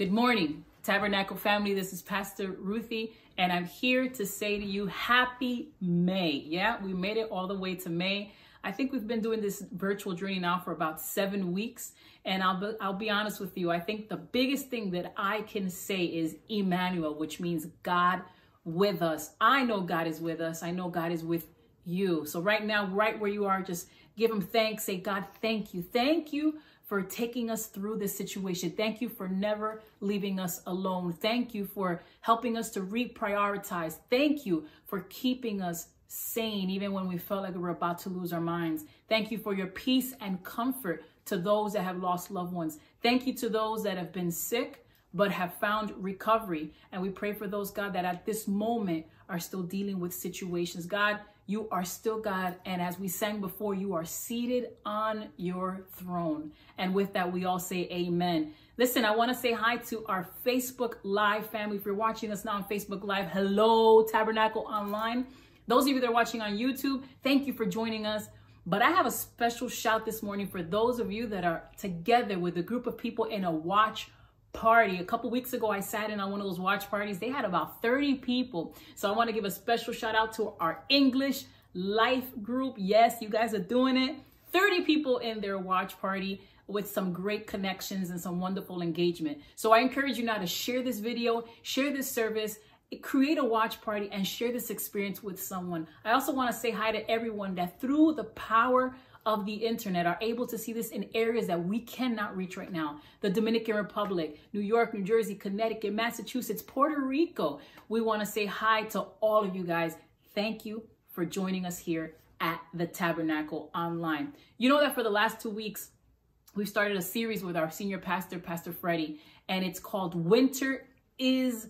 Good morning, Tabernacle family. This is Pastor Ruthie, and I'm here to say to you, Happy May. Yeah, we made it all the way to May. I think we've been doing this virtual journey now for about 7 weeks, and I'll be honest with you. I think the biggest thing that I can say is Emmanuel, which means God with us. I know God is with us. I know God is with you. So right now, right where you are, just give him thanks. Say, God, thank you. Thank you for taking us through this situation. Thank you for never leaving us alone. Thank you for helping us to reprioritize. Thank you for keeping us sane, even when we felt like we were about to lose our minds. Thank you for your peace and comfort to those that have lost loved ones. Thank you to those that have been sick, but have found recovery. And we pray for those, God, that at this moment are still dealing with situations. God, you are still God. And as we sang before, you are seated on your throne. And with that, we all say amen. Listen, I want to say hi to our Facebook Live family. If you're watching us now on Facebook Live, hello, Tabernacle Online. Those of you that are watching on YouTube, thank you for joining us. But I have a special shout this morning for those of you that are together with a group of people in a watch party. A couple weeks ago, I sat in on one of those watch parties. They had about 30 people. So I want to give a special shout out to our English Life group. Yes, you guys are doing it. 30 people in their watch party with some great connections and some wonderful engagement. So I encourage you now to share this video, share this service, create a watch party, and share this experience with someone. I also want to say hi to everyone that through the power of the internet are able to see this in areas that we cannot reach right now. The Dominican Republic, New York, New Jersey, Connecticut, Massachusetts, Puerto Rico. We want to say hi to all of you guys. Thank you for joining us here at the Tabernacle Online. You know that for the last 2 weeks, we've started a series with our senior pastor, Pastor Freddie, and it's called Winter is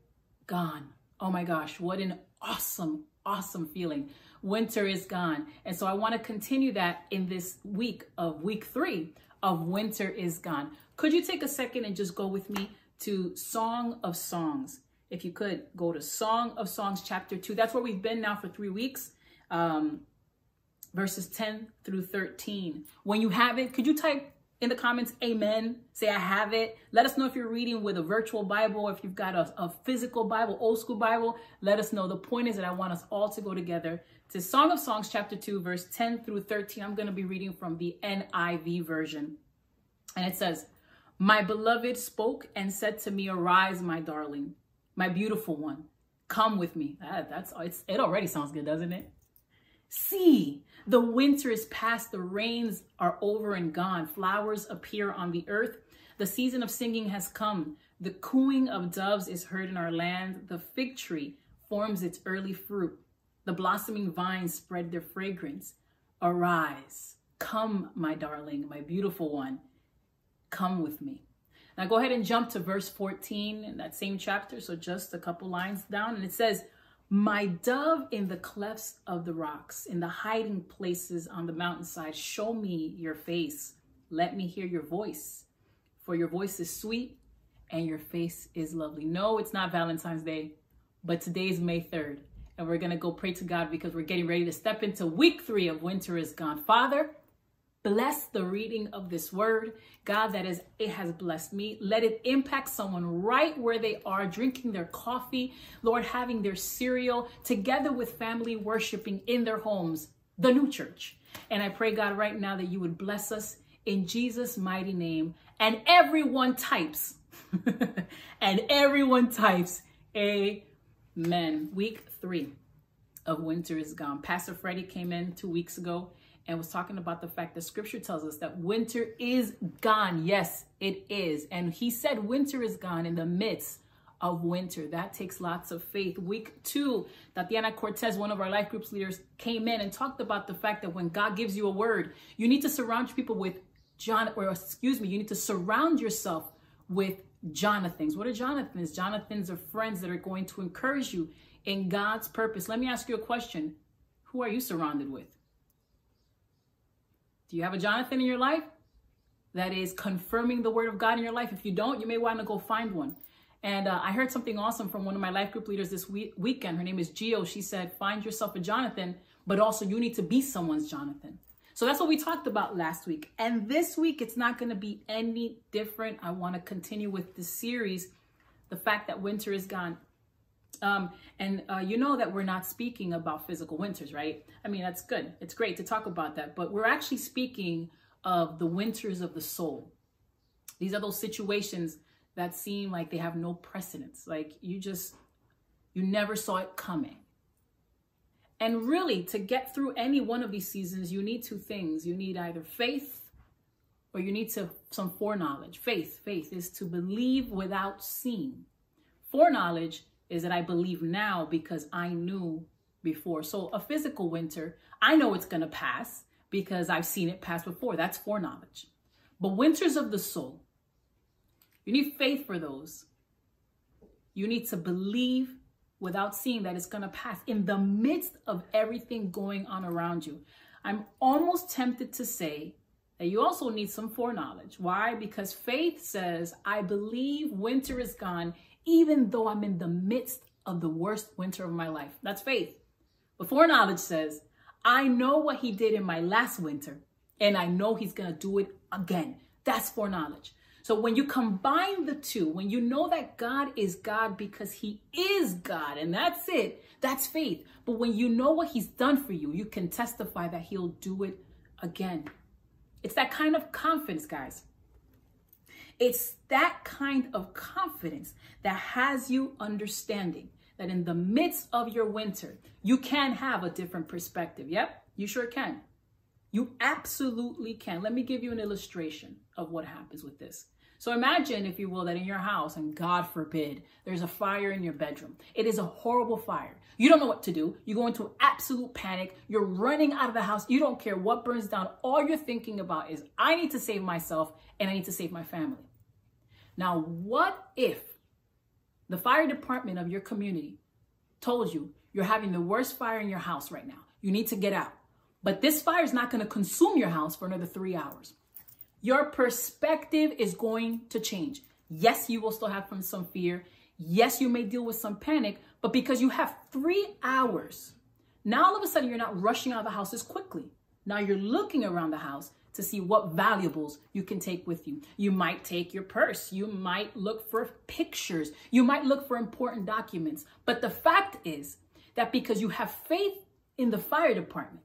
Gone. Oh my gosh, what an awesome feeling. Winter is gone. And so I want to continue that in this week of week 3 of Winter is Gone. Could you take a second and just go with me to Song of Songs? If you could go to Song of Songs, chapter 2. That's where we've been now for 3 weeks. Verses 10 through 13. When you have it, could you type in the comments, amen? Say, I have it. Let us know if you're reading with a virtual Bible, if you've got a physical Bible, old school Bible. Let us know. The point is that I want us all to go together to Song of Songs, chapter 2, verse 10 through 13. I'm going to be reading from the NIV version. And it says, My beloved spoke and said to me, Arise, my darling, my beautiful one. Come with me. It already sounds good, doesn't it? See, the winter is past, the rains are over and gone. Flowers appear on the earth. The season of singing has come. The cooing of doves is heard in our land. The fig tree forms its early fruit. The blossoming vines spread their fragrance. Arise, come, my darling, my beautiful one. Come with me. Now go ahead and jump to verse 14 in that same chapter. So just a couple lines down. And it says, My dove in the clefts of the rocks, in the hiding places on the mountainside, show me your face. Let me hear your voice. For your voice is sweet and your face is lovely. No, it's not Valentine's Day, but today's May 3rd. And we're going to go pray to God because we're getting ready to step into week 3 of Winter is Gone. Father, bless the reading of this word. God, it has blessed me. Let it impact someone right where they are, drinking their coffee, Lord, having their cereal, together with family worshiping in their homes, the new church. And I pray, God, right now that you would bless us in Jesus' mighty name. And everyone types, amen. Week 3 of Winter is Gone. Pastor Freddie came in 2 weeks ago and was talking about the fact that scripture tells us that winter is gone. Yes, it is. And he said winter is gone in the midst of winter. That takes lots of faith. Week 2, Tatiana Cortez, one of our life groups leaders, came in and talked about the fact that when God gives you a word, you need to surround people with you need to surround yourself with Jonathans. What are Jonathans? Jonathans are friends that are going to encourage you in God's purpose. Let me ask you a question. Who are you surrounded with? Do you have a Jonathan in your life that is confirming the word of God in your life? If you don't, you may want to go find one. And I heard something awesome from one of my life group leaders this weekend. Her name is Gio. She said, find yourself a Jonathan, but also you need to be someone's Jonathan. So that's what we talked about last week. And this week, it's not going to be any different. I want to continue with this series, the fact that winter is gone. You know that we're not speaking about physical winters, right? I mean, that's good. It's great to talk about that. But we're actually speaking of the winters of the soul. These are those situations that seem like they have no precedence. Like you never saw it coming. And really, to get through any one of these seasons, you need two things. You need either faith or you need some foreknowledge. Faith is to believe without seeing. Foreknowledge is that I believe now because I knew before. So a physical winter, I know it's going to pass because I've seen it pass before. That's foreknowledge. But winters of the soul, you need faith for those. You need to believe without seeing that it's going to pass in the midst of everything going on around you. I'm almost tempted to say that you also need some foreknowledge. Why? Because faith says, I believe winter is gone, even though I'm in the midst of the worst winter of my life. That's faith. But foreknowledge says, I know what he did in my last winter, and I know he's going to do it again. That's foreknowledge. So when you combine the two, when you know that God is God because he is God, and that's it, that's faith. But when you know what he's done for you, you can testify that he'll do it again. It's that kind of confidence, guys. It's that kind of confidence that has you understanding that in the midst of your winter, you can have a different perspective. Yep, you sure can. You absolutely can. Let me give you an illustration of what happens with this. So imagine, if you will, that in your house, and God forbid, there's a fire in your bedroom. It is a horrible fire. You don't know what to do. You go into absolute panic. You're running out of the house. You don't care what burns down. All you're thinking about is, I need to save myself and I need to save my family. Now, what if the fire department of your community told you you're having the worst fire in your house right now? You need to get out. But this fire is not going to consume your house for another 3 hours. Your perspective is going to change. Yes, you will still have some fear. Yes, you may deal with some panic, but because you have 3 hours, now all of a sudden you're not rushing out of the house as quickly. Now you're looking around the house to see what valuables you can take with you. You might take your purse. You might look for pictures. You might look for important documents. But the fact is that because you have faith in the fire department,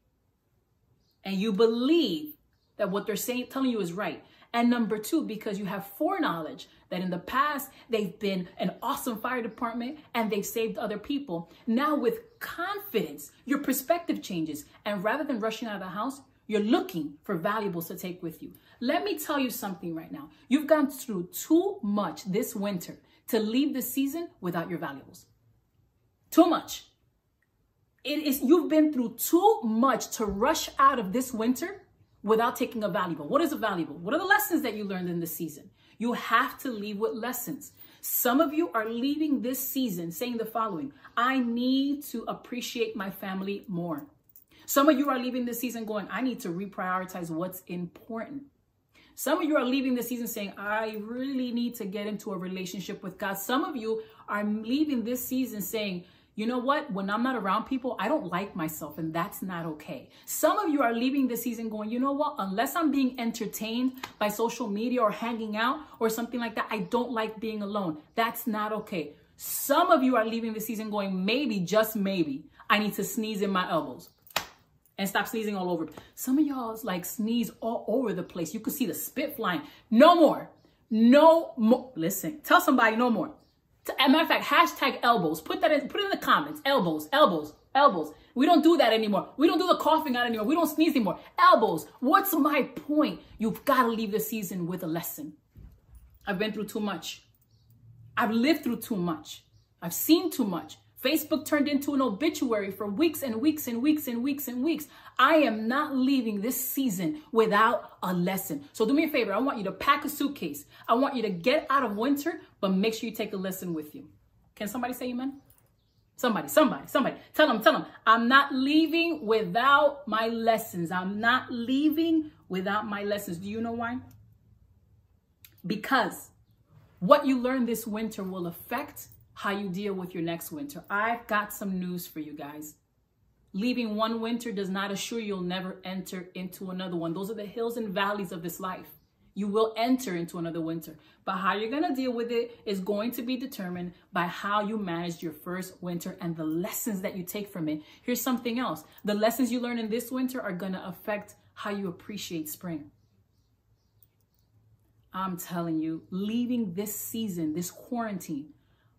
and you believe that what they're telling you is right. And number two, because you have foreknowledge that in the past, they've been an awesome fire department and they've saved other people. Now with confidence, your perspective changes. And rather than rushing out of the house, you're looking for valuables to take with you. Let me tell you something right now. You've gone through too much this winter to leave the season without your valuables. Too much. You've been through too much to rush out of this winter without taking a valuable. What is a valuable? What are the lessons that you learned in this season? You have to leave with lessons. Some of you are leaving this season saying the following: I need to appreciate my family more. Some of you are leaving this season going, I need to reprioritize what's important. Some of you are leaving this season saying, I really need to get into a relationship with God. Some of you are leaving this season saying, you know what? When I'm not around people, I don't like myself, and that's not okay. Some of you are leaving this season going, you know what? Unless I'm being entertained by social media or hanging out or something like that, I don't like being alone. That's not okay. Some of you are leaving the season going, maybe, just maybe, I need to sneeze in my elbows and stop sneezing all over. Some of y'all like sneeze all over the place. You could see the spit flying. No more. No more. Listen, tell somebody no more. As a matter of fact, hashtag elbows. Put it in the comments. Elbows, elbows, elbows. We don't do that anymore. We don't do the coughing out anymore. We don't sneeze anymore. Elbows. What's my point? You've got to leave the season with a lesson. I've been through too much. I've lived through too much. I've seen too much. Facebook turned into an obituary for weeks and weeks and weeks and weeks and weeks. I am not leaving this season without a lesson. So do me a favor. I want you to pack a suitcase. I want you to get out of winter, but make sure you take a lesson with you. Can somebody say amen? Somebody. Tell them. I'm not leaving without my lessons. I'm not leaving without my lessons. Do you know why? Because what you learn this winter will affect how you deal with your next winter. I've got some news for you guys. Leaving one winter does not assure you'll never enter into another one. Those are the hills and valleys of this life. You will enter into another winter, but how you're going to deal with it is going to be determined by how you managed your first winter and the lessons that you take from it. Here's something else. The lessons you learn in this winter are going to affect how you appreciate spring. I'm telling you, leaving this season, this quarantine,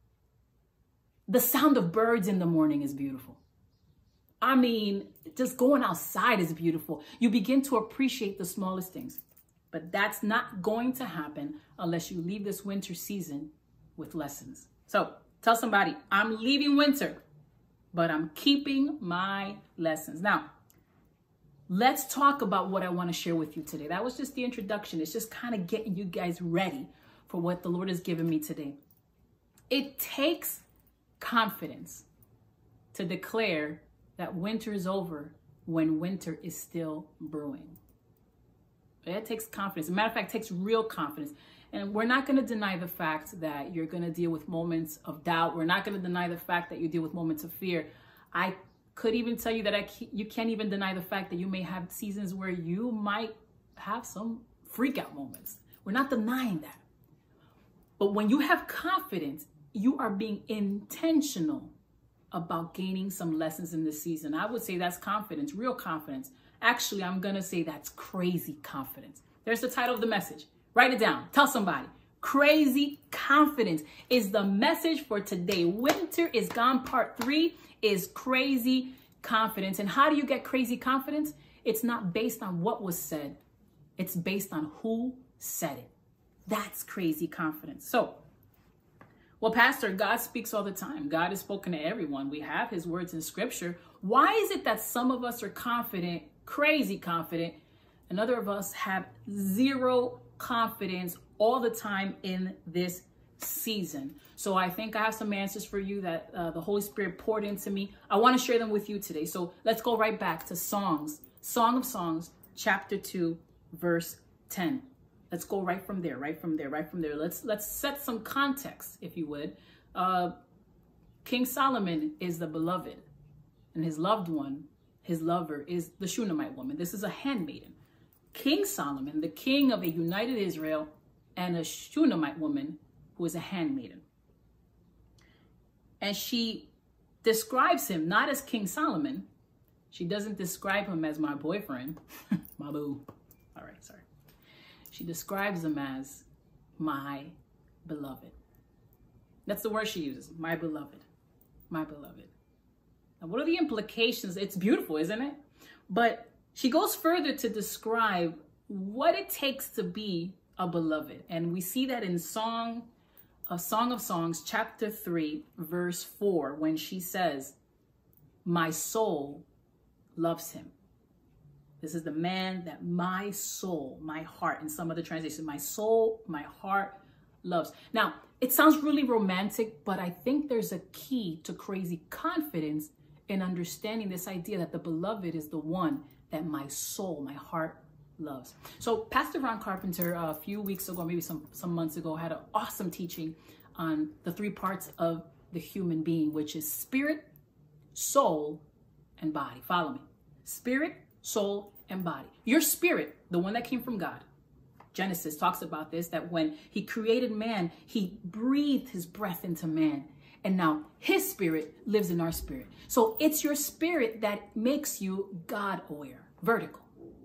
the sound of birds in the morning is beautiful. I mean, just going outside is beautiful. You begin to appreciate the smallest things. But that's not going to happen unless you leave this winter season with lessons. So tell somebody, I'm leaving winter, but I'm keeping my lessons. Now, let's talk about what I want to share with you today. That was just the introduction. It's just kind of getting you guys ready for what the Lord has given me today. It takes confidence to declare that winter is over when winter is still brewing. It takes confidence. As a matter of fact, it takes real confidence. And we're not going to deny the fact that you're going to deal with moments of doubt. We're not going to deny the fact that you deal with moments of fear. I could even tell you that you can't even deny the fact that you may have seasons where you might have some freak out moments. We're not denying that. But when you have confidence, you are being intentional about gaining some lessons in this season. I would say that's confidence, real confidence. Actually, I'm going to say that's crazy confidence. There's the title of the message. Write it down. Tell somebody. Crazy confidence is the message for today. Winter is gone. Part 3 is crazy confidence. And how do you get crazy confidence? It's not based on what was said. It's based on who said it. That's crazy confidence. So, well, Pastor, God speaks all the time. God has spoken to everyone. We have his words in scripture. Why is it that some of us are confident, crazy confident, and other of us have zero confidence all the time in this season? So I think I have some answers for you that the Holy Spirit poured into me. I want to share them with you today. So let's go right back to Song of Songs, chapter 2, verse 10. Let's go right from there. Let's set some context, if you would. King Solomon is the beloved, and his loved one, his lover, is the Shunammite woman. This is a handmaiden. King Solomon, the king of a united Israel, and a Shunammite woman who is a handmaiden. And she describes him not as King Solomon. She doesn't describe him as my boyfriend, my boo. All right, sorry. She describes him as my beloved. That's the word she uses, my beloved, my beloved. Now, what are the implications? It's beautiful, isn't it? But she goes further to describe what it takes to be a beloved. And we see that in Song of Songs, chapter 3, verse 4, when she says, my soul loves him. This is the man that my soul, my heart, in some other translations, my soul, my heart loves. Now, it sounds really romantic, but I think there's a key to crazy confidence in understanding this idea that the beloved is the one that my soul, my heart loves. So Pastor Ron Carpenter, a few weeks ago, maybe some months ago, had an awesome teaching on the 3 parts of the human being, which is spirit, soul, and body. Follow me. Spirit, soul, and body. Your spirit, the one that came from God. Genesis talks about this, that when he created man, he breathed his breath into man. And now his spirit lives in our spirit. So it's your spirit that makes you God aware. Vertical.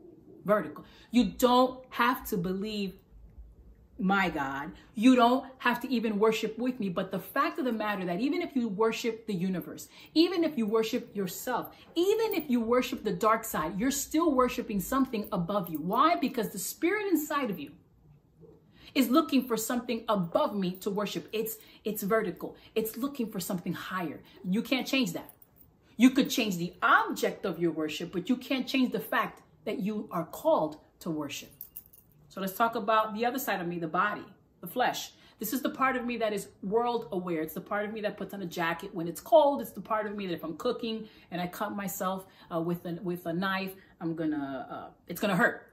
You don't have to believe my God. You don't have to even worship with me. But the fact of the matter that even if you worship the universe, even if you worship yourself, even if you worship the dark side, you're still worshiping something above you. Why? Because the spirit inside of you is looking for something above me to worship. It's vertical. It's looking for something higher. You can't change that. You could change the object of your worship, but you can't change the fact that you are called to worship. So let's talk about the other side of me, the body, the flesh. This is the part of me that is world aware. It's the part of me that puts on a jacket when it's cold. It's the part of me that if I'm cooking and I cut myself with a knife, it's gonna hurt.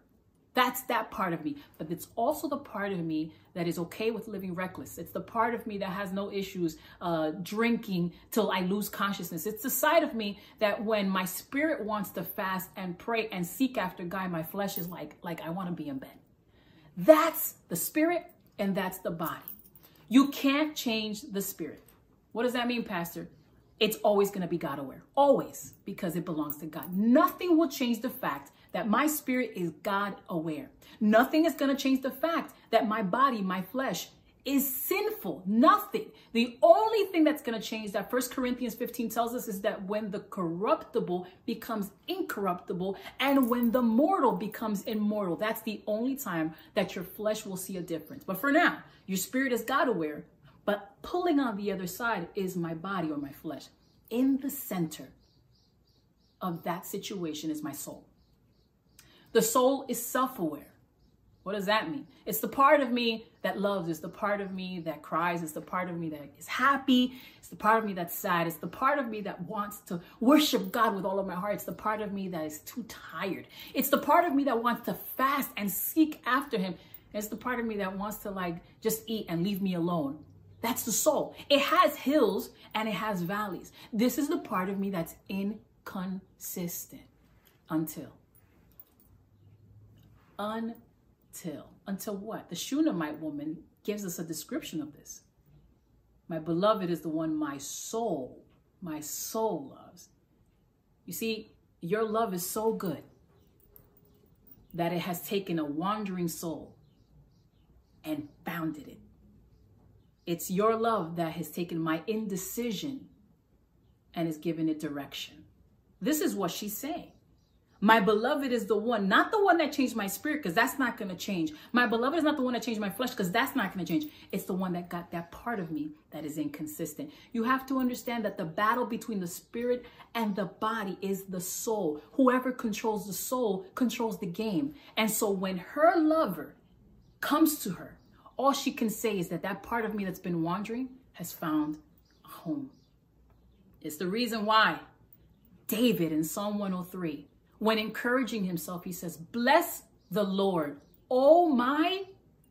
That's that part of me. But it's also the part of me that is okay with living reckless. It's the part of me that has no issues drinking till I lose consciousness. It's the side of me that when my spirit wants to fast and pray and seek after God, my flesh is like I want to be in bed. That's the spirit and that's the body. You can't change the spirit. What does that mean, Pastor? It's always going to be God aware. Always, because it belongs to God. Nothing will change the fact that my spirit is God aware. Nothing is going to change the fact that my body, my flesh, is sinful. Nothing. The only thing that's going to change that 1 Corinthians 15 tells us is that when the corruptible becomes incorruptible and when the mortal becomes immortal, that's the only time that your flesh will see a difference. But for now, your spirit is God aware, but pulling on the other side is my body or my flesh. In the center of that situation is my soul. The soul is self-aware. What does that mean? It's the part of me that loves. It's the part of me that cries. It's the part of me that is happy. It's the part of me that's sad. It's the part of me that wants to worship God with all of my heart. It's the part of me that is too tired. It's the part of me that wants to fast and seek after him. It's the part of me that wants to just eat and leave me alone. That's the soul. It has hills and it has valleys. This is the part of me that's inconsistent until what? The Shunammite woman gives us a description of this. My beloved is the one my soul loves. You see, your love is so good that it has taken a wandering soul and bounded it. It's your love that has taken my indecision and has given it direction. This is what she's saying. My beloved is the one, not the one that changed my spirit, because that's not going to change. My beloved is not the one that changed my flesh, because that's not going to change. It's the one that got that part of me that is inconsistent. You have to understand that the battle between the spirit and the body is the soul. Whoever controls the soul controls the game. And so when her lover comes to her, all she can say is that part of me that's been wandering has found a home. It's the reason why David in Psalm 103, when encouraging himself, he says, bless the Lord, oh my,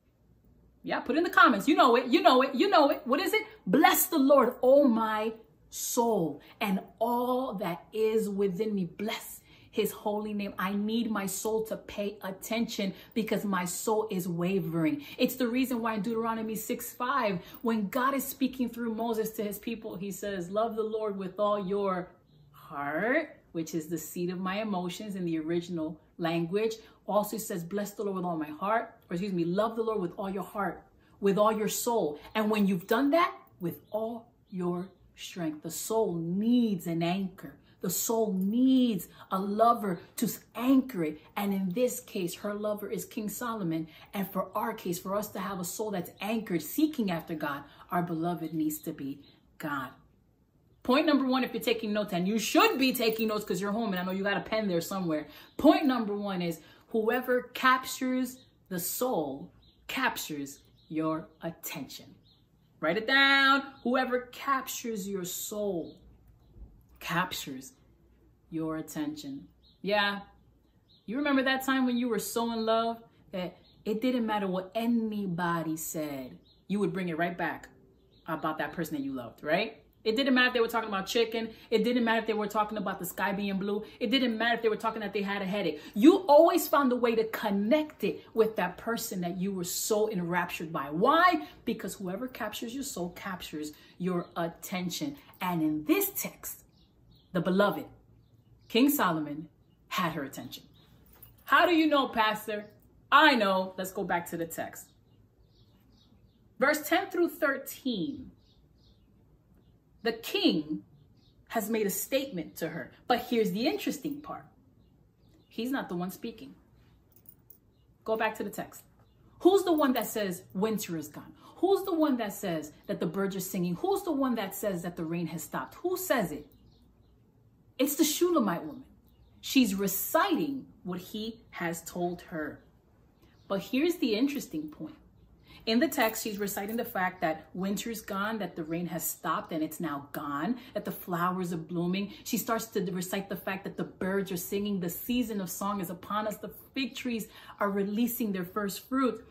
put in the comments. You know it. What is it? Bless the Lord, oh my soul, and all that is within me. Bless his holy name. I need my soul to pay attention because my soul is wavering. It's the reason why in Deuteronomy 6:5, when God is speaking through Moses to his people, he says, love the Lord with all your heart, which is the seat of my emotions in the original language. Also says, bless the Lord with all my heart, love the Lord with all your heart, with all your soul. And when you've done that, with all your strength, the soul needs an anchor. The soul needs a lover to anchor it. And in this case, her lover is King Solomon. And for our case, for us to have a soul that's anchored, seeking after God, our beloved needs to be God. Point number one, if you're taking notes, and you should be taking notes because you're home and I know you got a pen there somewhere. Point number one is whoever captures the soul captures your attention. Write it down. Whoever captures your soul captures your attention. Yeah. You remember that time when you were so in love that it didn't matter what anybody said. You would bring it right back about that person that you loved, right? It didn't matter if they were talking about chicken. It didn't matter if they were talking about the sky being blue. It didn't matter if they were talking that they had a headache. You always found a way to connect it with that person that you were so enraptured by. Why? Because whoever captures your soul captures your attention. And in this text, the beloved, King Solomon, had her attention. How do you know, Pastor? I know. Let's go back to the text. Verse 10 through 13. The king has made a statement to her. But here's the interesting part. He's not the one speaking. Go back to the text. Who's the one that says winter is gone? Who's the one that says that the birds are singing? Who's the one that says that the rain has stopped? Who says it? It's the Shunammite woman. She's reciting what he has told her. But here's the interesting point. In the text, she's reciting the fact that winter's gone, that the rain has stopped and it's now gone, that the flowers are blooming. She starts to recite the fact that the birds are singing, the season of song is upon us, the fig trees are releasing their first fruit.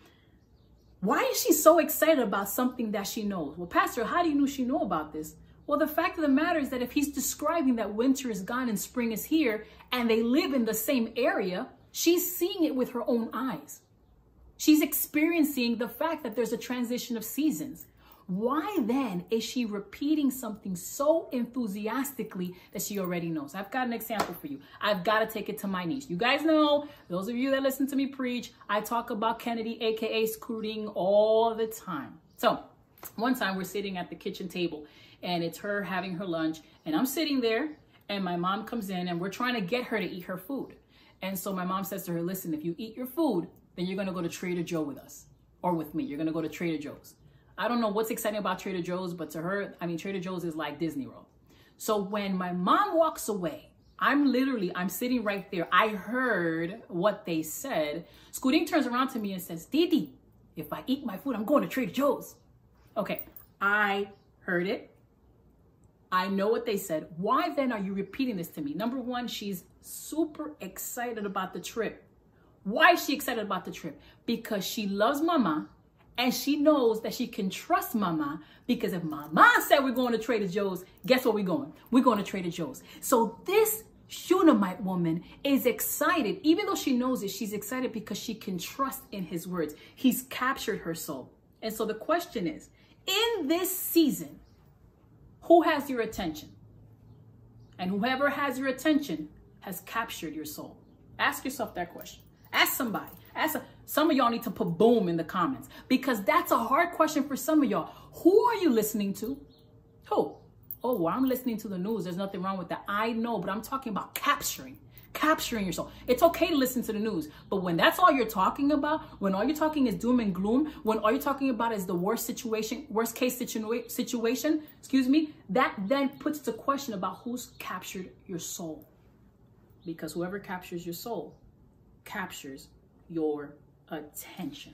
Why is she so excited about something that she knows? Well, Pastor, how do you know she know about this? Well, the fact of the matter is that if he's describing that winter is gone and spring is here, and they live in the same area, she's seeing it with her own eyes. She's experiencing the fact that there's a transition of seasons. Why then is she repeating something so enthusiastically that she already knows? I've got an example for you. I've got to take it to my niece. You guys know, those of you that listen to me preach, I talk about Kennedy, aka Scooting, all the time. So one time we're sitting at the kitchen table and it's her having her lunch and I'm sitting there and my mom comes in and we're trying to get her to eat her food. And so my mom says to her, listen, if you eat your food, then you're going to go to Trader Joe with us or with me. You're going to go to Trader Joe's. I don't know what's exciting about Trader Joe's, but to her, I mean, Trader Joe's is like Disney World. So when my mom walks away, I'm sitting right there. I heard what they said. Scooting turns around to me and says, Didi, if I eat my food, I'm going to Trader Joe's. Okay, I heard it. I know what they said. Why then are you repeating this to me? Number one, she's super excited about the trip. Why is she excited about the trip? Because she loves Mama and she knows that she can trust Mama, because if Mama said we're going to Trader Joe's, guess where we're going? We're going to Trader Joe's. So this Shunammite woman is excited. Even though she knows it, she's excited because she can trust in his words. He's captured her soul. And so the question is, in this season, who has your attention? And whoever has your attention has captured your soul. Ask yourself that question. Ask somebody. Some of y'all need to put boom in the comments, because that's a hard question for some of y'all. Who are you listening to? Who? Oh, well, I'm listening to the news. There's nothing wrong with that. I know, but I'm talking about capturing your soul. It's okay to listen to the news, but when that's all you're talking about, when all you're talking is doom and gloom, when all you're talking about is the worst case situation, that then puts the question about who's captured your soul. Because whoever captures your soul captures your attention.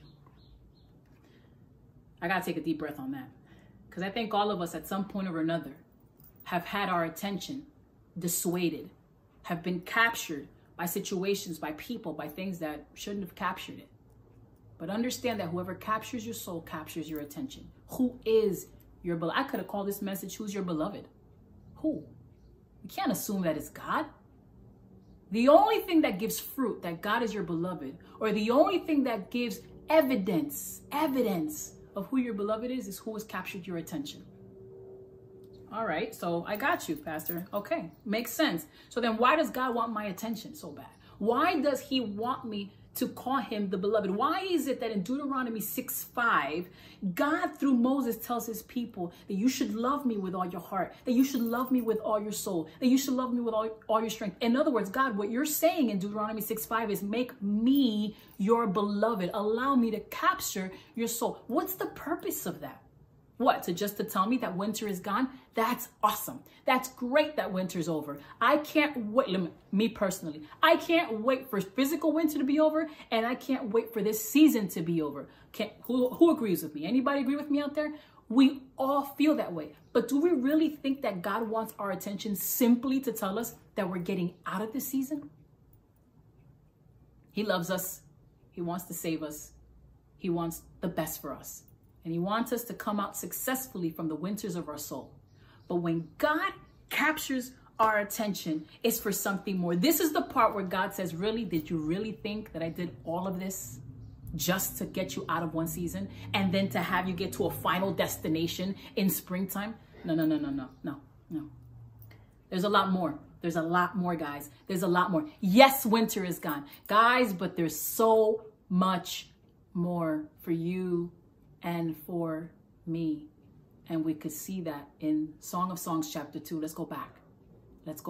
I gotta take a deep breath on that, because I think all of us at some point or another have had our attention dissuaded, have been captured by situations, by people, by things that shouldn't have captured it. But understand that whoever captures your soul captures your attention. Who is your beloved? I could have called this message, who's your beloved? Who? You can't assume that it's God. The only thing that gives fruit that God is your beloved, or the only thing that gives evidence of who your beloved is who has captured your attention. All right, so I got you, Pastor. Okay, makes sense. So then why does God want my attention so bad? Why does he want me to call him the beloved? Why is it that in Deuteronomy 6:5, God through Moses tells his people that you should love me with all your heart, that you should love me with all your soul, that you should love me with all your strength? In other words, God, what you're saying in Deuteronomy 6:5 is make me your beloved. Allow me to capture your soul. What's the purpose of that? What, to tell me that winter is gone? That's awesome. That's great that winter's over. I can't wait, me personally, I can't wait for physical winter to be over, and I can't wait for this season to be over. Who agrees with me? Anybody agree with me out there? We all feel that way. But do we really think that God wants our attention simply to tell us that we're getting out of this season? He loves us. He wants to save us. He wants the best for us. And he wants us to come out successfully from the winters of our soul. But when God captures our attention, it's for something more. This is the part where God says, really, did you really think that I did all of this just to get you out of one season and then to have you get to a final destination in springtime? No. There's a lot more. There's a lot more, guys. There's a lot more. Yes, winter is gone, guys, but there's so much more for you and for me. And we could see that in Song of Songs chapter 2. Let's go back. Go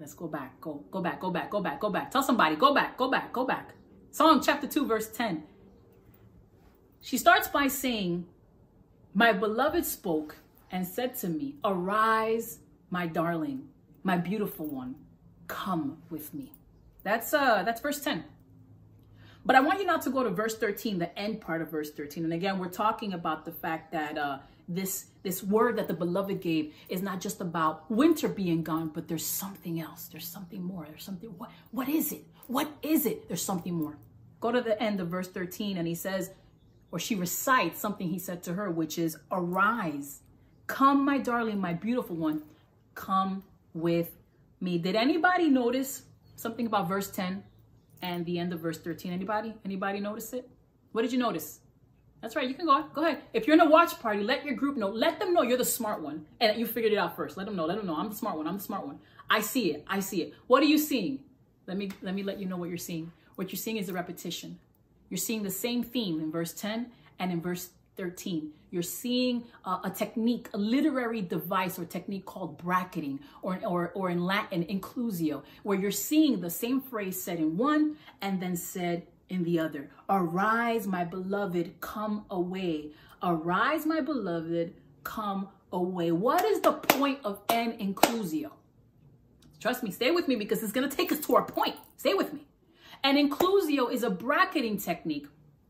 back. Tell somebody, go back. Song chapter 2, verse 10. She starts by saying, my beloved spoke and said to me, arise, my darling, my beautiful one, come with me. That's verse 10. But I want you now to go to verse 13, the end part of verse 13. And again, we're talking about the fact that this word that the beloved gave is not just about winter being gone, but there's something else. There's something more. There's something. What is it? What is it? There's something more. Go to the end of verse 13, and he says, or she recites something he said to her, which is, arise, come, my darling, my beautiful one, come with me. Did anybody notice something about verse 10 and the end of verse 13? Anybody notice it? What did you notice? That's right. You can go ahead. If you're in a watch party, let your group know. Let them know you're the smart one and that you figured it out first. Let them know. I'm the smart one. I'm the smart one. I see it. What are you seeing? Let me let you know what you're seeing. What you're seeing is a repetition. You're seeing the same theme in verse 10 and in verse 13. You're seeing a technique, a literary device or technique called bracketing, or in Latin, inclusio, where you're seeing the same phrase said in one and then said in the other. Arise, my beloved, come away. Arise, my beloved, come away. What is the point of an inclusio? Trust me, stay with me because it's going to take us to our point. Stay with me. An inclusio is a bracketing technique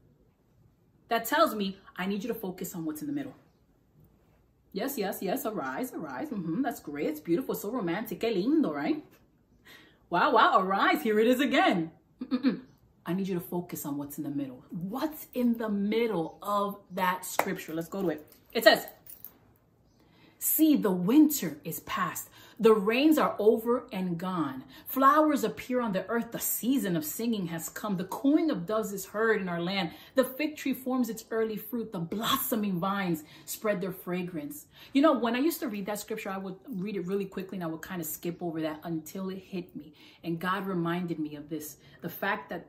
that tells me I need you to focus on what's in the middle. Yes, arise. That's great. It's beautiful. So romantic. Que lindo, right? Wow, arise. Here it is again. I need you to focus on what's in the middle. What's in the middle of that scripture? Let's go to it. It says, see, the winter is past. The rains are over and gone. Flowers appear on the earth. The season of singing has come. The cooing of doves is heard in our land. The fig tree forms its early fruit. The blossoming vines spread their fragrance. You know, when I used to read that scripture, I would read it really quickly and I would kind of skip over that until it hit me. And God reminded me of this. The fact that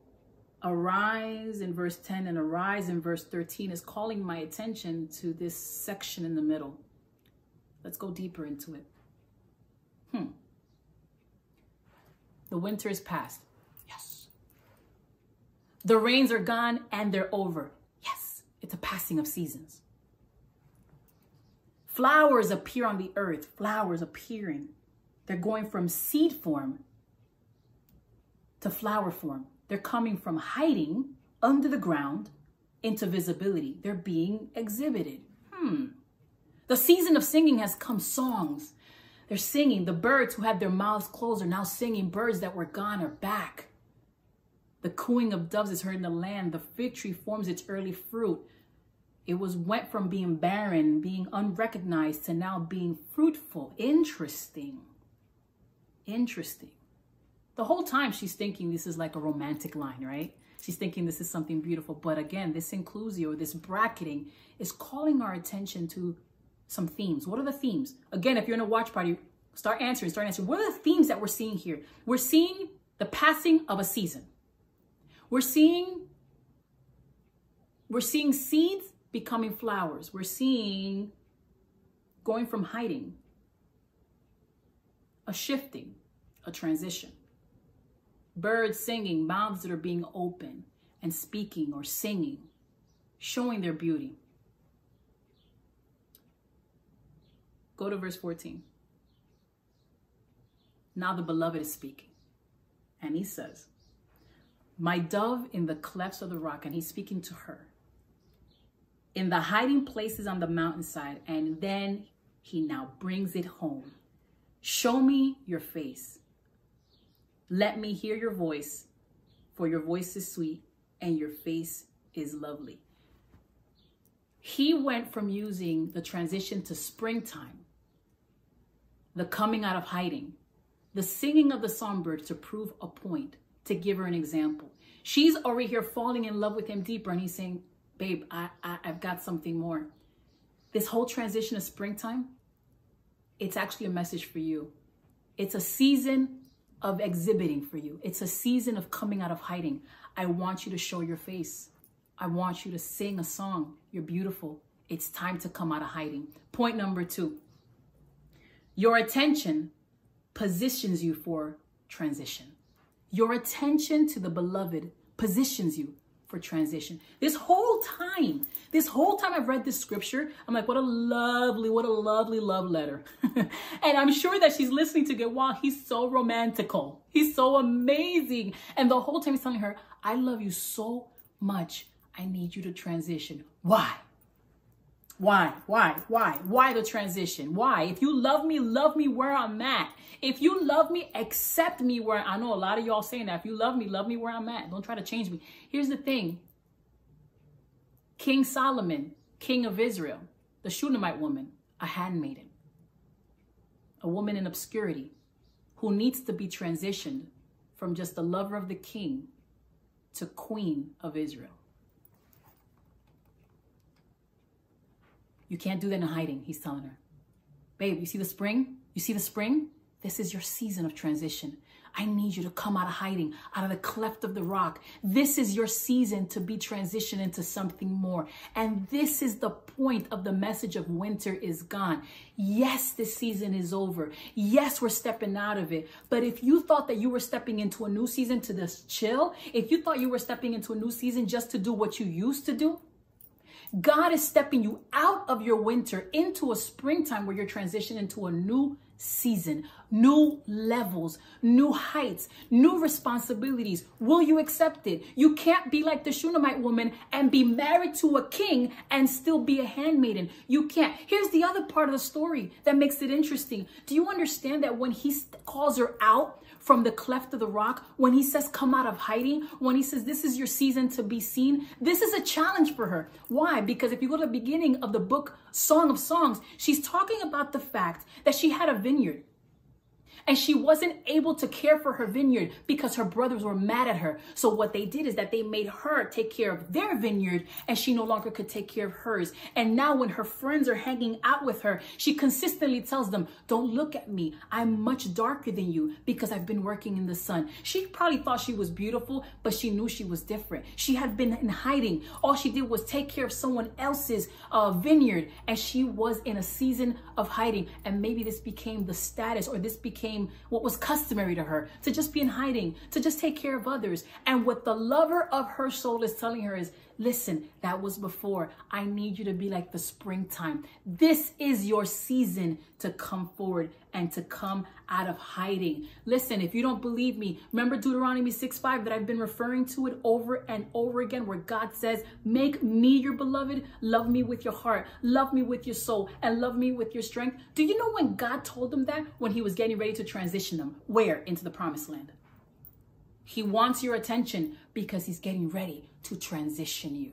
arise in verse 10 and arise in verse 13 is calling my attention to this section in the middle. Let's go deeper into it. The winter is past. Yes. The rains are gone and they're over. Yes. It's a passing of seasons. Flowers appear on the earth. Flowers appearing. They're going from seed form to flower form. They're coming from hiding under the ground into visibility. They're being exhibited. The season of singing has come. Songs. They're singing. The birds who had their mouths closed are now singing. Birds that were gone are back. The cooing of doves is heard in the land. The fig tree forms its early fruit. It went from being barren, being unrecognized, to now being fruitful. Interesting. The whole time she's thinking this is like a romantic line, right? She's thinking this is something beautiful. But again, this inclusio, this bracketing is calling our attention to some themes. What are the themes? Again, if you're in a watch party, start answering. What are the themes that we're seeing here? We're seeing the passing of a season. We're seeing seeds becoming flowers. We're seeing going from hiding, a shifting, a transition. Birds singing, mouths that are being open and speaking or singing, showing their beauty. Go to verse 14. Now the beloved is speaking. And he says, my dove in the clefts of the rock. And he's speaking to her. In the hiding places on the mountainside. And then he now brings it home. Show me your face. Let me hear your voice. For your voice is sweet and your face is lovely. He went from using the transition to springtime, the coming out of hiding, the singing of the songbird to prove a point, to give her an example. She's already here falling in love with him deeper, and he's saying, babe, I've got something more. This whole transition of springtime, it's actually a message for you. It's a season of exhibiting for you. It's a season of coming out of hiding. I want you to show your face. I want you to sing a song. You're beautiful. It's time to come out of hiding. Point number 2. Your attention positions you for transition. Your attention to the beloved positions you for transition. This whole time, This whole time I've read this scripture, I'm like, what a lovely love letter. And I'm sure that she's listening to get, wow, he's so romantical. He's so amazing. And the whole time he's telling her, I love you so much. I need you to transition. Why? Why the transition? Why? If you love me where I'm at. If you love me, accept me where I know a lot of y'all saying that. If you love me where I'm at. Don't try to change me. Here's the thing. King Solomon, king of Israel, the Shunammite woman, a handmaiden, a woman in obscurity who needs to be transitioned from just the lover of the king to queen of Israel. You can't do that in hiding, he's telling her. Babe, you see the spring? You see the spring? This is your season of transition. I need you to come out of hiding, out of the cleft of the rock. This is your season to be transitioned into something more. And this is the point of the message of winter is gone. Yes, this season is over. Yes, we're stepping out of it. But if you thought that you were stepping into a new season to just chill, if you thought you were stepping into a new season just to do what you used to do, God is stepping you out of your winter into a springtime where you're transitioning into a new season, new levels, new heights, new responsibilities. Will you accept it? You can't be like the Shunammite woman and be married to a king and still be a handmaiden. You can't. Here's the other part of the story that makes it interesting. Do you understand that when he calls her out from the cleft of the rock, when he says, come out of hiding, when he says, this is your season to be seen, this is a challenge for her. Why? Because if you go to the beginning of the book, Song of Songs, she's talking about the fact that she had a vineyard. And she wasn't able to care for her vineyard because her brothers were mad at her. So what they did is that they made her take care of their vineyard and she no longer could take care of hers. And now when her friends are hanging out with her, she consistently tells them, don't look at me. I'm much darker than you because I've been working in the sun. She probably thought she was beautiful, but she knew she was different. She had been in hiding. All she did was take care of someone else's vineyard. And she was in a season of hiding. And maybe this became the status, or this became what was customary to her, to just be in hiding, to just take care of others. And what the lover of her soul is telling her is, listen, that was before. I need you to be like the springtime. This is your season to come forward and to come out of hiding. Listen, if you don't believe me, remember Deuteronomy 6:5 that I've been referring to it over and over again, where God says, make me your beloved, love me with your heart, love me with your soul, and love me with your strength. Do you know when God told them that? When he was getting ready to transition them. Where? Into the promised land. He wants your attention because he's getting ready to transition you.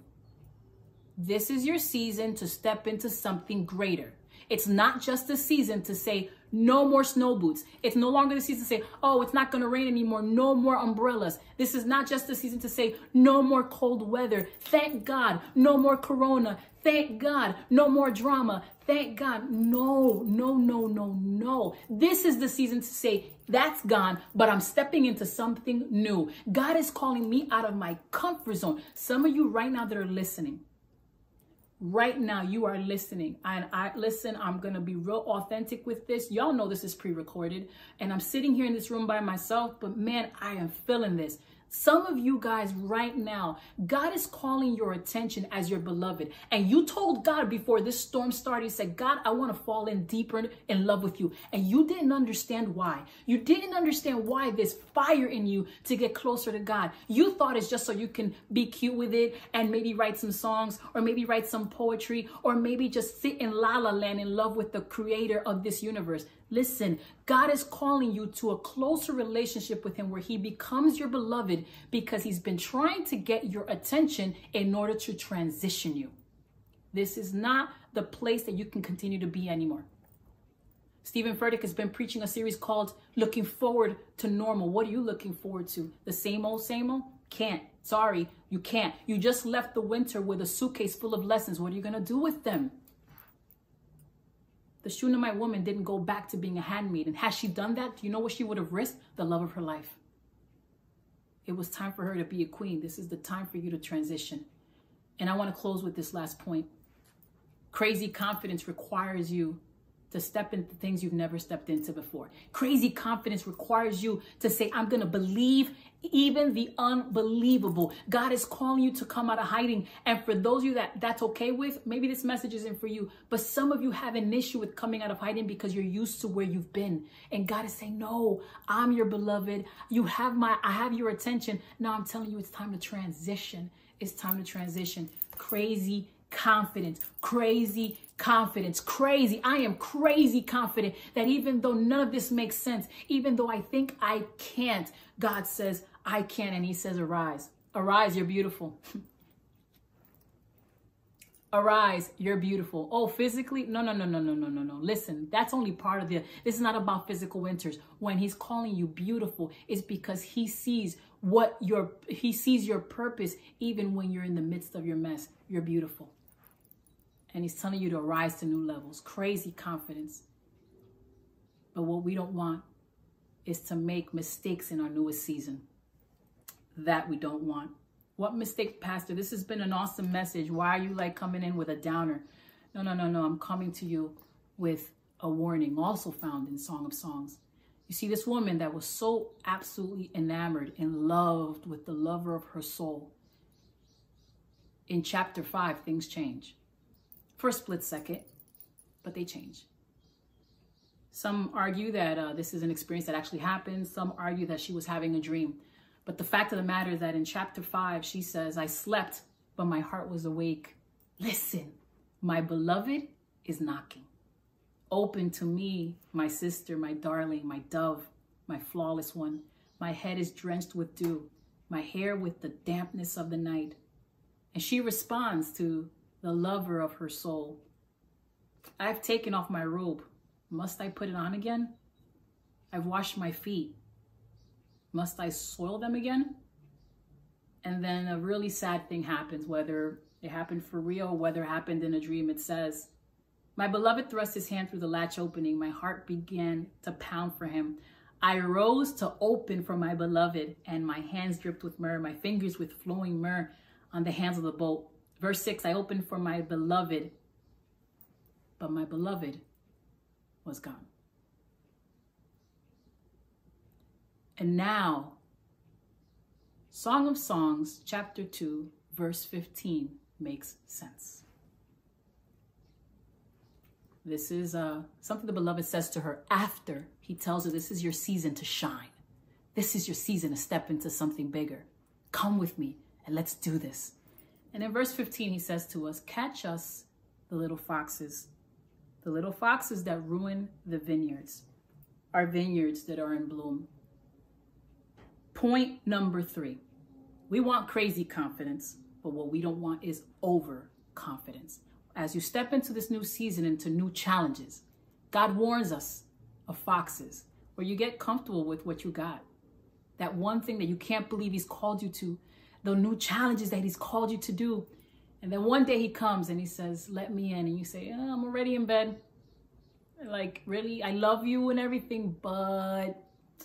This is your season to step into something greater. It's not just a season to say, no more snow boots. It's no longer the season to say, oh, it's not going to rain anymore. No more umbrellas. This is not just the season to say, no more cold weather. Thank God. No more corona. Thank God. No more drama. Thank God. No. This is the season to say, that's gone, but I'm stepping into something new. God is calling me out of my comfort zone. Some of you right now that are listening, right now you are listening, and listen, I'm going to be real authentic with this. Y'all know this is pre-recorded, and I'm sitting here in this room by myself, but man, I am feeling this. Some of you guys right now, God is calling your attention as your beloved. And you told God before this storm started, you said, God, I want to fall in deeper in love with you. And you didn't understand why. You didn't understand why there's fire in you to get closer to God. You thought it's just so you can be cute with it and maybe write some songs, or maybe write some poetry, or maybe just sit in la la land in love with the creator of this universe. Listen, God is calling you to a closer relationship with him where he becomes your beloved because he's been trying to get your attention in order to transition you. This is not the place that you can continue to be anymore. Stephen Furtick has been preaching a series called Looking Forward to Normal. What are you looking forward to? The same old, same old? Can't. Sorry, you can't. You just left the winter with a suitcase full of lessons. What are you going to do with them? The Shunammite woman didn't go back to being a handmaiden. Had she done that, do you know what she would have risked? The love of her life. It was time for her to be a queen. This is the time for you to transition. And I want to close with this last point. Crazy confidence requires you to step into things you've never stepped into before. Crazy confidence requires you to say, I'm going to believe even the unbelievable. God is calling you to come out of hiding. And for those of you that's okay with, maybe this message isn't for you, but some of you have an issue with coming out of hiding because you're used to where you've been. And God is saying, no, I'm your beloved. I have your attention. Now I'm telling you, it's time to transition. It's time to transition. Crazy confidence, crazy confidence, crazy. I am crazy confident that even though none of this makes sense, even though I think I can't, God says I can. And he says, arise, arise, you're beautiful. Arise, you're beautiful. Oh, physically? No. Listen, that's only part of this is not about physical winters. When he's calling you beautiful, it's because he sees your purpose. Even when you're in the midst of your mess, you're beautiful. And he's telling you to rise to new levels. Crazy confidence. But what we don't want is to make mistakes in our newest season. That we don't want. What mistake, Pastor? This has been an awesome message. Why are you like coming in with a downer? No. I'm coming to you with a warning, also found in Song of Songs. You see, this woman that was so absolutely enamored and loved with the lover of her soul. In chapter 5, things change. For a split second, but they change. Some argue that this is an experience that actually happened. Some argue that she was having a dream. But the fact of the matter is that in chapter 5, she says, I slept, but my heart was awake. Listen, my beloved is knocking. Open to me, my sister, my darling, my dove, my flawless one. My head is drenched with dew, my hair with the dampness of the night. And she responds to the lover of her soul. I've taken off my robe. Must I put it on again? I've washed my feet. Must I soil them again? And then a really sad thing happens, whether it happened for real or whether it happened in a dream. It says, my beloved thrust his hand through the latch opening. My heart began to pound for him. I rose to open for my beloved, and my hands dripped with myrrh, my fingers with flowing myrrh on the hands of the bolt. Verse 6, I opened for my beloved, but my beloved was gone. And now, Song of Songs, chapter 2, verse 15 makes sense. This is something the beloved says to her after he tells her, this is your season to shine. This is your season to step into something bigger. Come with me and let's do this. And in verse 15, he says to us, catch us, the little foxes that ruin the vineyards, our vineyards that are in bloom. Point number 3, we want crazy confidence, but what we don't want is overconfidence. As you step into this new season, into new challenges, God warns us of foxes, where you get comfortable with what you got. That one thing that you can't believe he's called you to, the new challenges that he's called you to do. And then one day he comes and he says, let me in. And you say, oh, I'm already in bed. Like, really? I love you and everything, but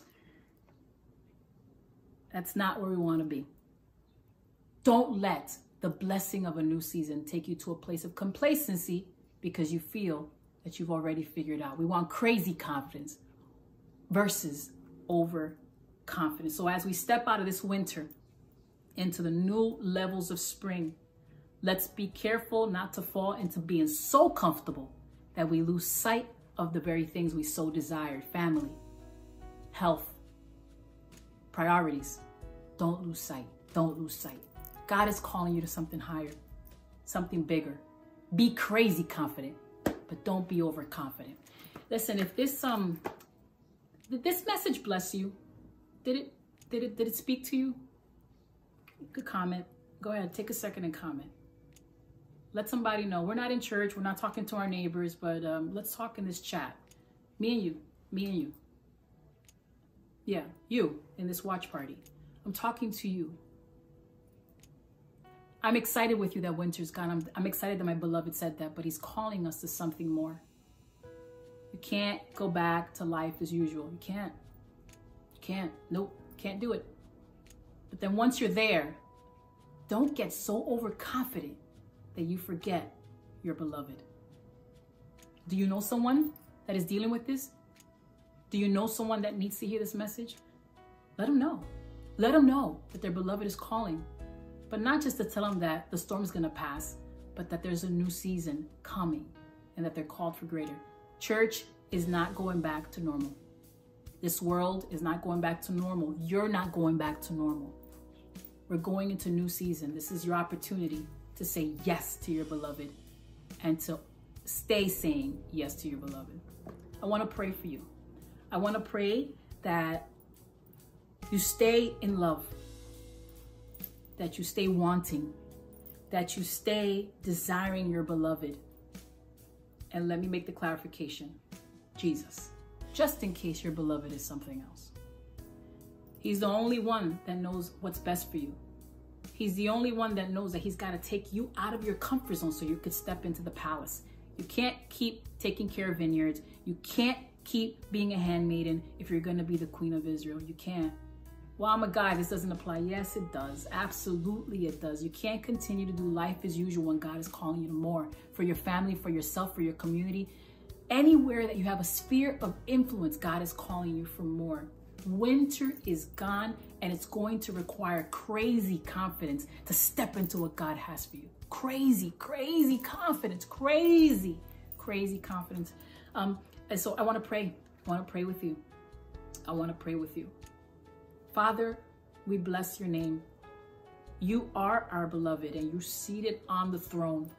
that's not where we want to be. Don't let the blessing of a new season take you to a place of complacency because you feel that you've already figured out. We want crazy confidence versus overconfidence. So as we step out of this winter into the new levels of spring, let's be careful not to fall into being so comfortable that we lose sight of the very things we so desired. Family, health, priorities. Don't lose sight. Don't lose sight. God is calling you to something higher, something bigger. Be crazy confident, but don't be overconfident. Listen, if this did this message bless you? Did it speak to you? You could comment. Go ahead, take a second and comment. Let somebody know. We're not in church. We're not talking to our neighbors, but let's talk in this chat. Me and you. Yeah, you in this watch party. I'm talking to you. I'm excited with you that winter's gone. I'm excited that my beloved said that, but he's calling us to something more. You can't go back to life as usual. You can't. You can't. Nope. Can't do it. But then once you're there, don't get so overconfident that you forget your beloved. Do you know someone that is dealing with this? Do you know someone that needs to hear this message? Let them know. Let them know that their beloved is calling. But not just to tell them that the storm's going to pass, but that there's a new season coming and that they're called for greater. Church is not going back to normal. This world is not going back to normal. You're not going back to normal. We're going into a new season. This is your opportunity to say yes to your beloved and to stay saying yes to your beloved. I want to pray for you. I want to pray that you stay in love, that you stay wanting, that you stay desiring your beloved. And let me make the clarification. Jesus, just in case your beloved is something else. He's the only one that knows what's best for you. He's the only one that knows that he's got to take you out of your comfort zone so you could step into the palace. You can't keep taking care of vineyards. You can't keep being a handmaiden if you're going to be the queen of Israel. You can't. Well, I'm a guy. This doesn't apply. Yes, it does. Absolutely, it does. You can't continue to do life as usual when God is calling you to more for your family, for yourself, for your community. Anywhere that you have a sphere of influence, God is calling you for more. Winter is gone, and it's going to require crazy confidence to step into what God has for you. Crazy, crazy confidence. Crazy, crazy confidence. And so I want to pray. I want to pray with you. I want to pray with you. Father, we bless your name. You are our beloved, and you're seated on the throne.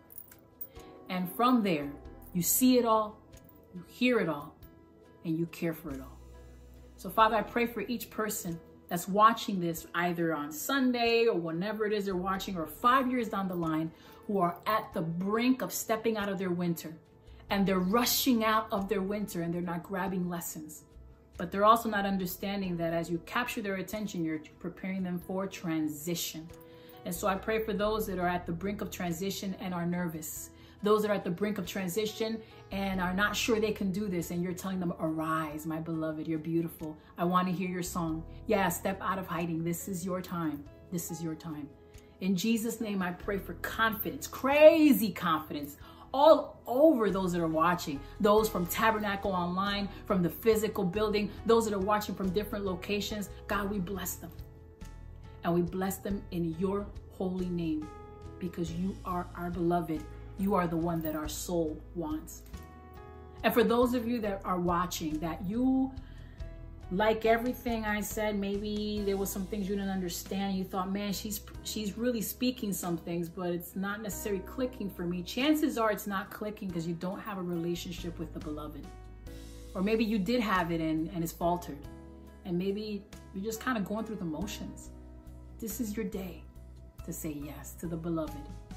And from there, you see it all, you hear it all, and you care for it all. So Father, I pray for each person that's watching this either on Sunday or whenever it is they're watching, or 5 years down the line, who are at the brink of stepping out of their winter, and they're rushing out of their winter and they're not grabbing lessons. But they're also not understanding that as you capture their attention, you're preparing them for transition. And so I pray for those that are at the brink of transition and are nervous. Those that are at the brink of transition and are not sure they can do this, and you're telling them, arise, my beloved, you're beautiful. I want to hear your song. Yeah, step out of hiding. This is your time. This is your time. In Jesus' name, I pray for confidence, crazy confidence, all over those that are watching, those from Tabernacle Online, from the physical building, those that are watching from different locations. God, we bless them. And we bless them in your holy name, because you are our beloved. You are the one that our soul wants. And for those of you that are watching, that you, like everything I said, maybe there was some things you didn't understand. You thought, man, she's really speaking some things, but it's not necessarily clicking for me. Chances are it's not clicking because you don't have a relationship with the beloved. Or maybe you did have it and it's faltered. And maybe you're just kind of going through the motions. This is your day to say yes to the beloved,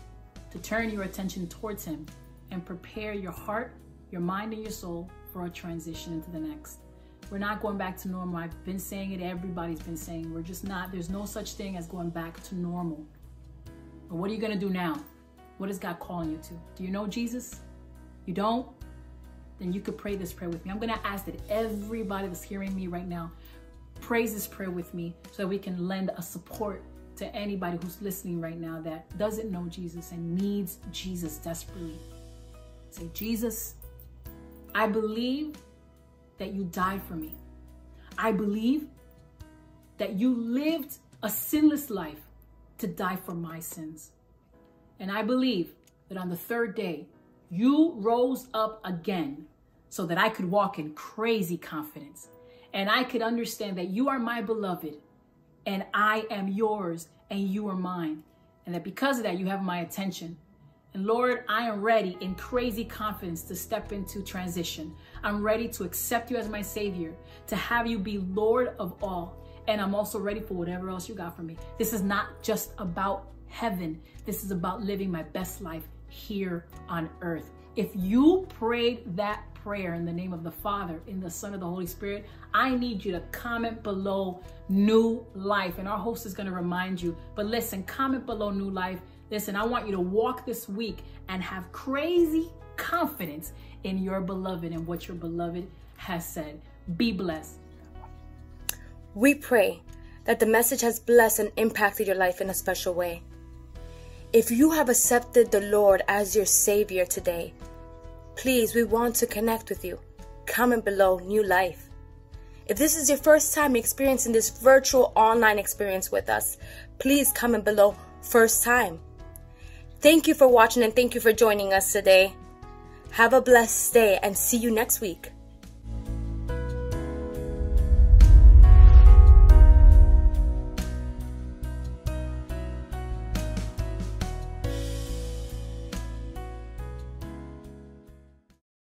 to turn your attention towards him and prepare your heart, your mind, and your soul for a transition into the next. We're not going back to normal. I've been saying it. Everybody's been saying we're just not. There's no such thing as going back to normal. But what are you going to do now? What is God calling you to? Do you know Jesus? You don't? Then you could pray this prayer with me. I'm going to ask that everybody that's hearing me right now praise this prayer with me so that we can lend a support to anybody who's listening right now that doesn't know Jesus and needs Jesus desperately. Say, Jesus, I believe that you died for me. I believe that you lived a sinless life to die for my sins. And I believe that on the third day, you rose up again so that I could walk in crazy confidence. And I could understand that you are my beloved and I am yours and you are mine. And that because of that, you have my attention. And Lord, I am ready in crazy confidence to step into transition. I'm ready to accept you as my Savior, to have you be Lord of all. And I'm also ready for whatever else you got for me. This is not just about heaven. This is about living my best life here on earth. If you prayed that prayer in the name of the Father, in the Son, of the Holy Spirit, I need you to comment below new life. And our host is going to remind you. But listen, comment below new life. Listen, I want you to walk this week and have crazy confidence in your beloved and what your beloved has said. Be blessed. We pray that the message has blessed and impacted your life in a special way. If you have accepted the Lord as your Savior today, please, we want to connect with you. comment below New Life. If this is your first time experiencing this virtual online experience with us, please comment below First Time. Thank you for watching and thank you for joining us today. Have a blessed day and see you next week.